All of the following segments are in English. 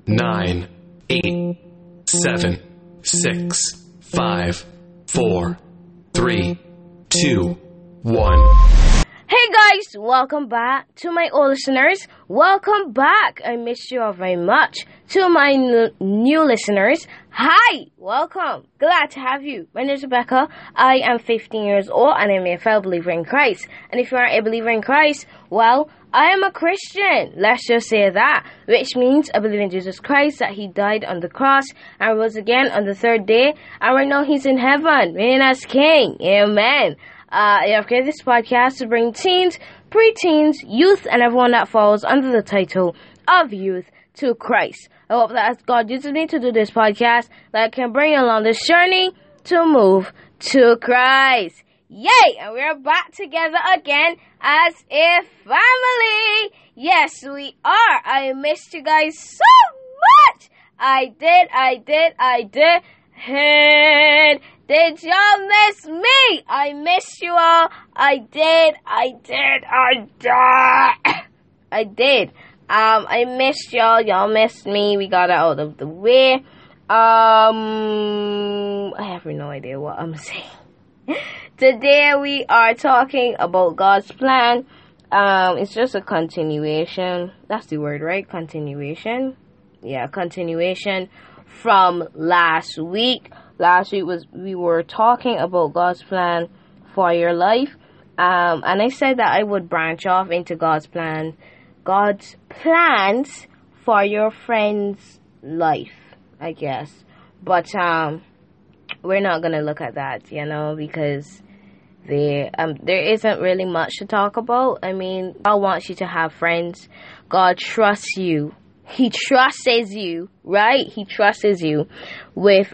9, 8, 7, 6, 5, 4, 3, 2, 1. Hey guys, welcome back to my old listeners. Welcome back. I missed you all very much. To my new listeners, hi, welcome. Glad to have you. My name is Rebecca. I am 15 years old and I'm a fellow believer in Christ. And if you aren't a believer in Christ, well, I am a Christian. Let's just say that, which means I believe in Jesus Christ, that he died on the cross and rose again on the third day. And right now he's in heaven, reigning as King. Amen. I have created this podcast to bring teens, preteens, youth, and everyone that falls under the title of youth to Christ. I hope that as God uses me to do this podcast, that I can bring you along this journey to move to Christ. Yay! And we're back together again as a family. Yes, we are. I missed you guys so much. I did. And did y'all miss me? I miss you all. I did. I missed y'all. Y'all missed me. We got it out of the way. I have no idea what I'm saying. Today we are talking about God's plan. It's just a continuation. That's the word, right? Continuation. Yeah, continuation from last week. Last week we were talking about God's plan for your life. And I said that I would branch off into God's plans for your friend's life, I guess. But we're not gonna look at that, because there isn't really much to talk about. I mean, God wants you to have friends. God trusts you. He trusts you, right? He trusts you with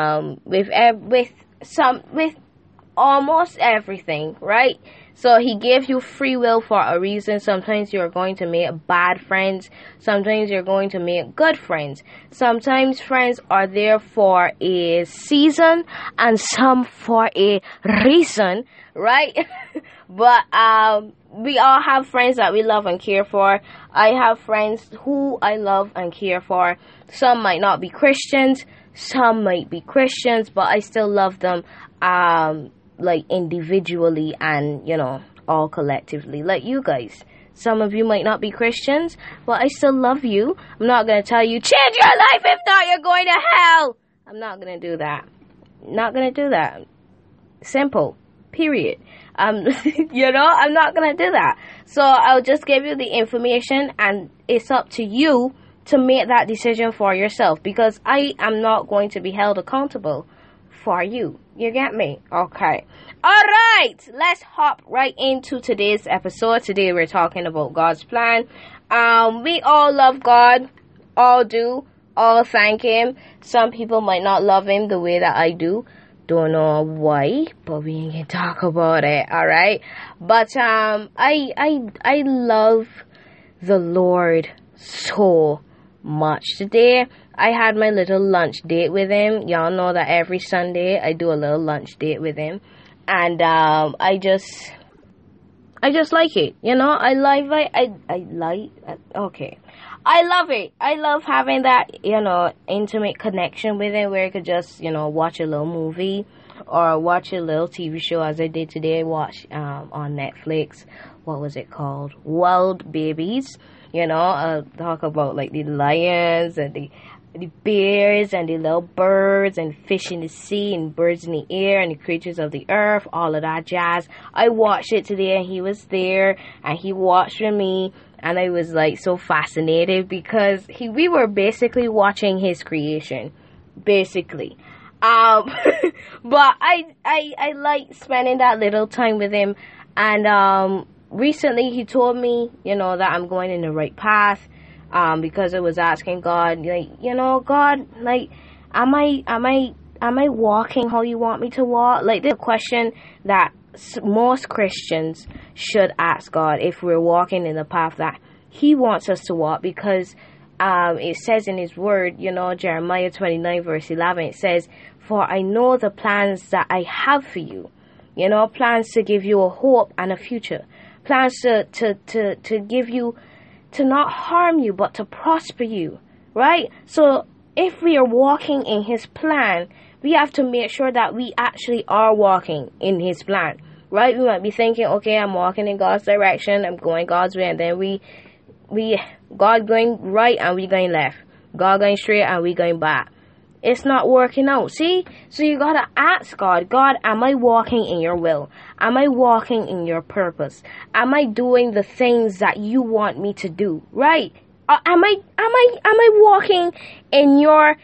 almost everything, right? So he gave you free will for a reason. Sometimes you're going to make bad friends. Sometimes you're going to make good friends. Sometimes friends are there for a season and some for a reason, right? But we all have friends that we love and care for. I have friends who I love and care for. Some might not be Christians. Some might be Christians, but I still love them, like individually and, all collectively, like you guys. Some of you might not be Christians, but I still love you. I'm not going to tell you, change your life, if not, you're going to hell. I'm not going to do that. Not going to do that. Simple. Period. I'm not going to do that. So I'll just give you the information and it's up to you to make that decision for yourself, because I am not going to be held accountable for you. You get me? Okay. Alright, let's hop right into today's episode. Today we're talking about God's plan. We all love God. All do. All thank him. Some people might not love him the way that I do. Don't know why, but we ain't gonna talk about it, alright? But I love the Lord so much. Today I had my little lunch date with him. Y'all know that every Sunday I do a little lunch date with him, and I just like it. I love it. I love having that, intimate connection with him where I could just, watch a little movie or watch a little TV show, as I did today. Watch on Netflix. What was it called? Wild Babies. Talk about like the lions and the bears and the little birds and fish in the sea and birds in the air and the creatures of the earth, all of that jazz. I watched it today and he was there and he watched with me. And I was like so fascinated because we were basically watching his creation, basically. But I like spending that little time with him. And recently he told me, that I'm going in the right path. Because I was asking God, God, am I walking how you want me to walk? Like, this is a question that most Christians should ask God, if we're walking in the path that he wants us to walk, because it says in his word, Jeremiah 29 verse 11, it says, for I know the plans that I have for you, plans to give you a hope and a future, plans to give you, to not harm you, but to prosper you, right? So if we are walking in His plan, we have to make sure that we actually are walking in His plan, right? We might be thinking, okay, I'm walking in God's direction, I'm going God's way, and then God going right and we going left, God going straight and we going back. It's not working out, see? So you gotta ask God, am I walking in your will? Am I walking in your purpose? Am I doing the things that you want me to do, right? Am I walking in your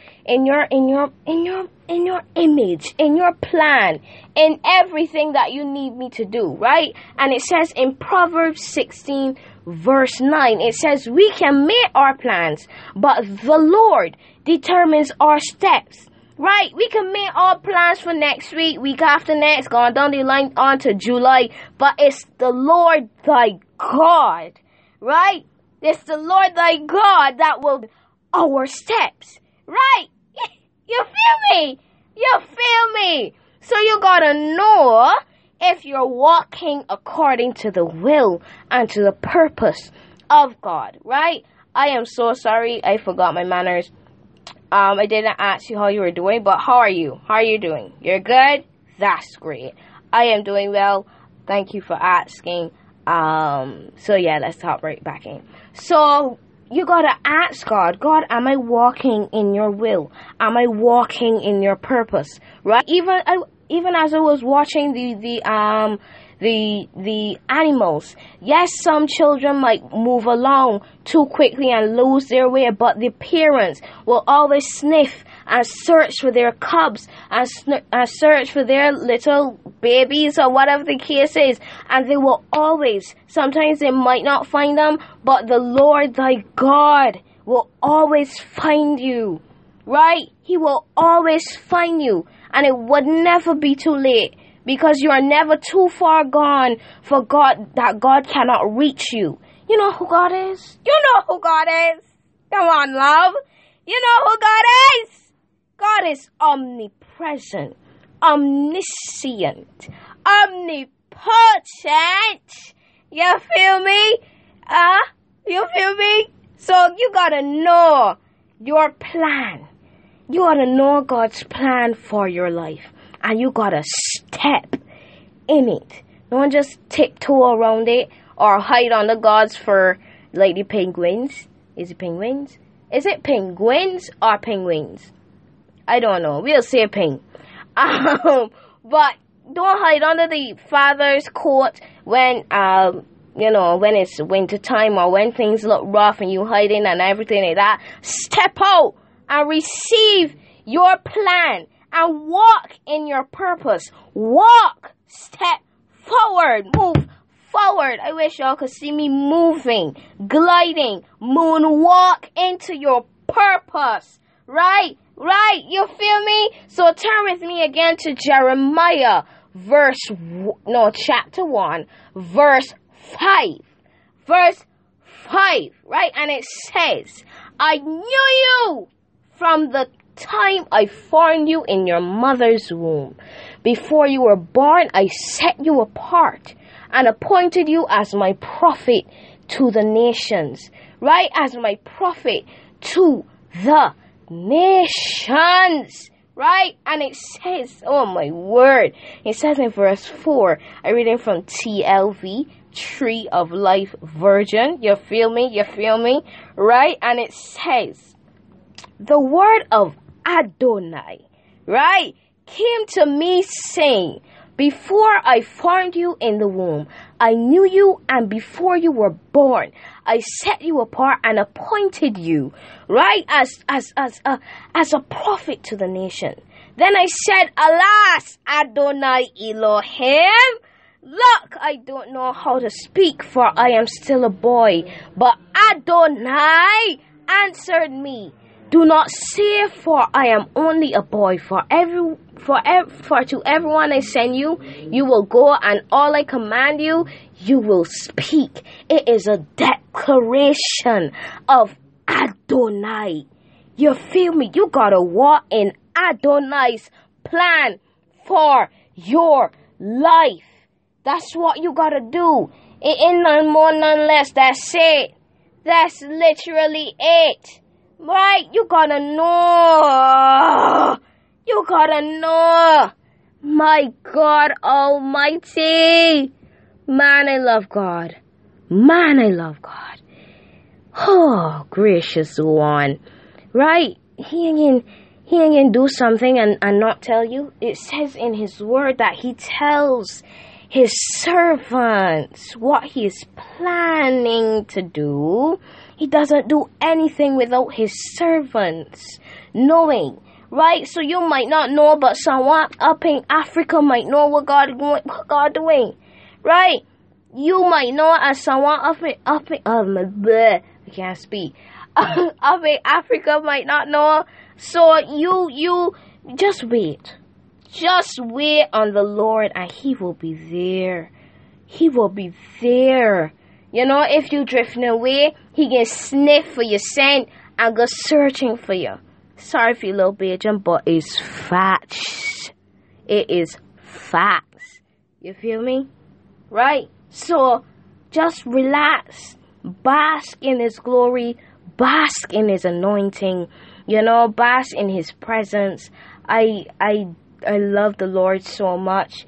image, in your plan, in everything that you need me to do, right? And it says in Proverbs 16 verse 9, it says we can make our plans, but the Lord determines our steps, right? We can make our plans for next week after next, going down the line on to July, but it's the Lord thy God, right? It's the Lord thy God that will our steps, right? You feel me? You feel me? So you gotta know if you're walking according to the will and to the purpose of God, right? I am so sorry, I forgot my manners. I didn't ask you how you were doing, but how are you? How are you doing? You're good? That's great. I am doing well. Thank you for asking. So yeah, let's hop right back in. So you gotta ask God, am I walking in your will? Am I walking in your purpose? Right? Even as I was watching the animals, yes, some children might move along too quickly and lose their way, but the parents will always sniff and search for their cubs and search for their little babies or whatever the case is, and they will always, sometimes they might not find them, but the Lord thy God will always find you, right? He will always find you, and it would never be too late, because you are never too far gone for God, that God cannot reach you. You know who God is? You know who God is. Come on, love. You know who God is. God is omnipresent, omniscient, omnipotent. You feel me? You feel me? So you gotta know your plan. You gotta know God's plan for your life. And you gotta step in it. Don't just tiptoe around it or hide under God's for like the penguins. Is it penguins? Is it penguins or penguins? I don't know. We'll say ping. But don't hide under the Father's coat when when it's winter time or when things look rough and you hiding and everything like that. Step out and receive your plan and walk in your purpose. Walk. Step forward. Move forward. I wish y'all could see me moving, gliding, moonwalk into your purpose. Right? Right? You feel me? So turn with me again to Jeremiah chapter 1, verse 5. Verse 5, right? And it says, I knew you from the time I formed you in your mother's womb. Before you were born, I set you apart and appointed you as my prophet to the nations. Right? As my prophet to the nations. Right? And it says, oh my word, it says in verse 4, I read it from TLV, Tree of Life Version. You feel me? You feel me? Right? And it says, the word of Adonai, right, came to me saying, before I formed you in the womb, I knew you, and before you were born, I set you apart and appointed you, right, as a prophet to the nation. Then I said, alas, Adonai Elohim, look, I don't know how to speak, for I am still a boy. But Adonai answered me, do not say, for I am only a boy. For to everyone I send you, you will go, and all I command you, you will speak. It is a declaration of Adonai. You feel me? You gotta walk in Adonai's plan for your life. That's what you gotta do. It ain't none more, none less. That's it. That's literally it. Right? You gotta know. You gotta know. My God Almighty. Man, I love God. Man, I love God. Oh, gracious one. Right? He ain't gonna do something and not tell you. It says in his word that he tells his servants what he is planning to do. He doesn't do anything without his servants knowing. Right? So you might not know, but someone up in Africa might know what God doing. Right? You might know, as someone up in I can't speak. Up in Africa might not know. So you just wait. Just wait on the Lord, and he will be there. He will be there. You know, if you drifting away, he can sniff for your scent and go searching for you. Sorry for you little Bajan, but it's facts. It is facts. You feel me? Right? So, just relax. Bask in his glory. Bask in his anointing. You know, bask in his presence. I love the Lord so much.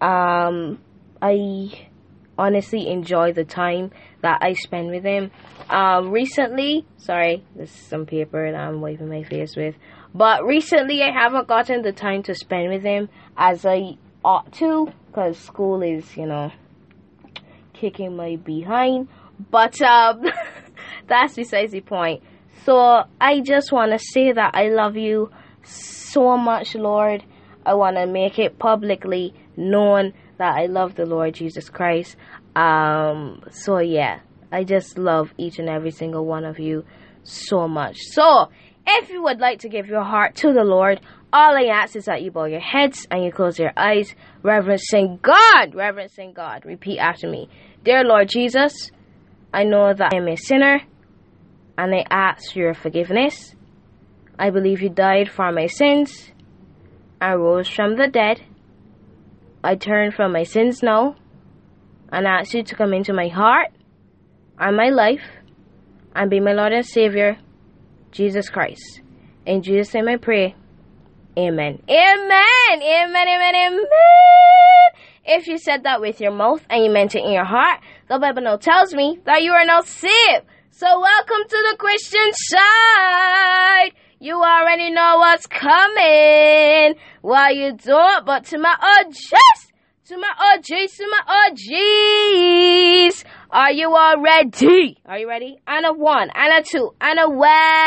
I honestly enjoy the time that I spend with him. Recently, sorry, this is some paper that I'm wiping my face with, but recently I haven't gotten the time to spend with him as I ought to, because school is, you know, kicking my behind, but that's besides the point. So I just want to say that I love you so much, Lord. I want to make it publicly known that I love the Lord Jesus Christ. So yeah, I just love each and every single one of you so much. So if you would like to give your heart to the Lord, all I ask is that you bow your heads and you close your eyes, reverencing God. Reverencing God. Repeat after me. Dear Lord Jesus, I know that I am a sinner, and I ask your forgiveness. I believe you died for my sins and rose from the dead. I turn from my sins now and ask you to come into my heart and my life and be my Lord and Savior, Jesus Christ. In Jesus' name I pray. Amen. Amen. Amen. Amen. Amen. If you said that with your mouth and you meant it in your heart, the Bible now tells me that you are now saved. So welcome to the Christian side. You already know what's coming. Why you don't, but to my OGs, to my OGs, to my OGs. Are you all ready? Are you ready? And a one, and a two, and a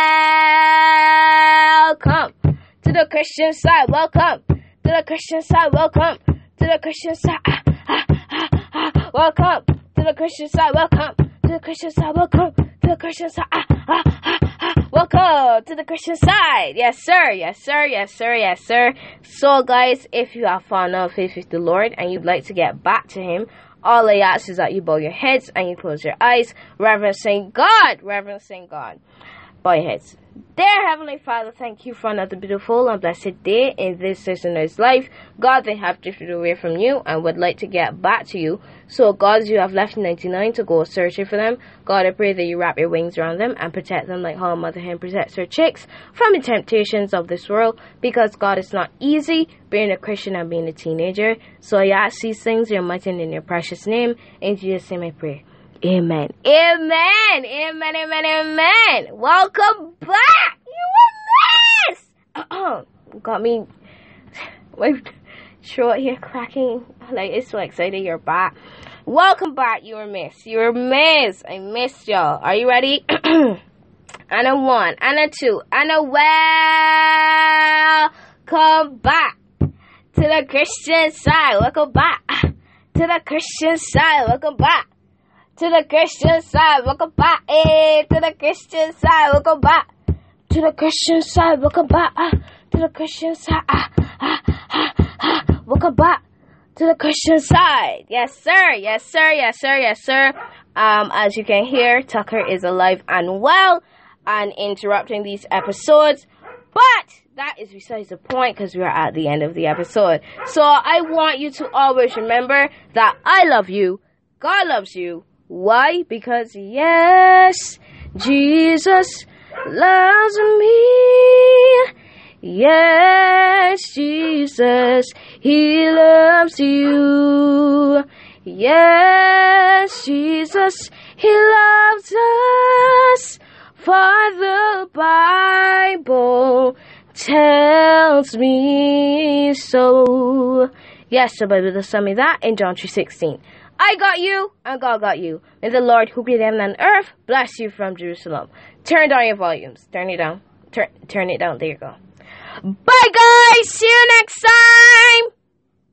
welcome to the Christian side. Welcome to the Christian side. Welcome to the Christian side. Welcome to the Christian side. Welcome to the Christian side. Welcome to the Christian side. Welcome to the Christian side. Yes, sir. Yes, sir. Yes, sir. Yes, sir. So, guys, if you have fallen out of faith with the Lord and you'd like to get back to him, all I ask is that you bow your heads and you close your eyes, reverencing God. Reverencing God. Bow your heads. Dear Heavenly Father, thank you for another beautiful and blessed day in this listener's life. God, they have drifted away from you and would like to get back to you. So, God, as you have left 99 to go searching for them, God, I pray that you wrap your wings around them and protect them like how a mother hen protects her chicks from the temptations of this world. Because, God, it's not easy being a Christian and being a teenager. So, I ask these things in your mighty and in your precious name. In Jesus' name I pray. Amen. Amen. Amen. Amen. Amen. Welcome back. You were missed. Got me. My throat here cracking. Like, it's so excited you're back. Welcome back. You were missed. You were missed. I missed y'all. Are you ready? And a one, and a two, and a welcome back to the Christian side. Welcome back to the Christian side. Welcome back to the Christian side. Welcome back to the Christian side. Welcome back to the Christian side. Welcome back to the Christian side. Welcome back to the Christian side. Yes, sir. Yes, sir. Yes, sir. Yes, sir. As you can hear, Tucker is alive and well and interrupting these episodes. But that is besides the point because we are at the end of the episode. So I want you to always remember that I love you. God loves you. Why? Because yes, Jesus loves me. Yes, Jesus, He loves you. Yes, Jesus, He loves us. For the Bible tells me so. Yes, the Bible does tell me that in John 3:16. I got you, and God got you. May the Lord who created heaven and earth bless you from Jerusalem. Turn down your volumes. Turn it down. Turn it down. There you go. Bye, guys. See you next time.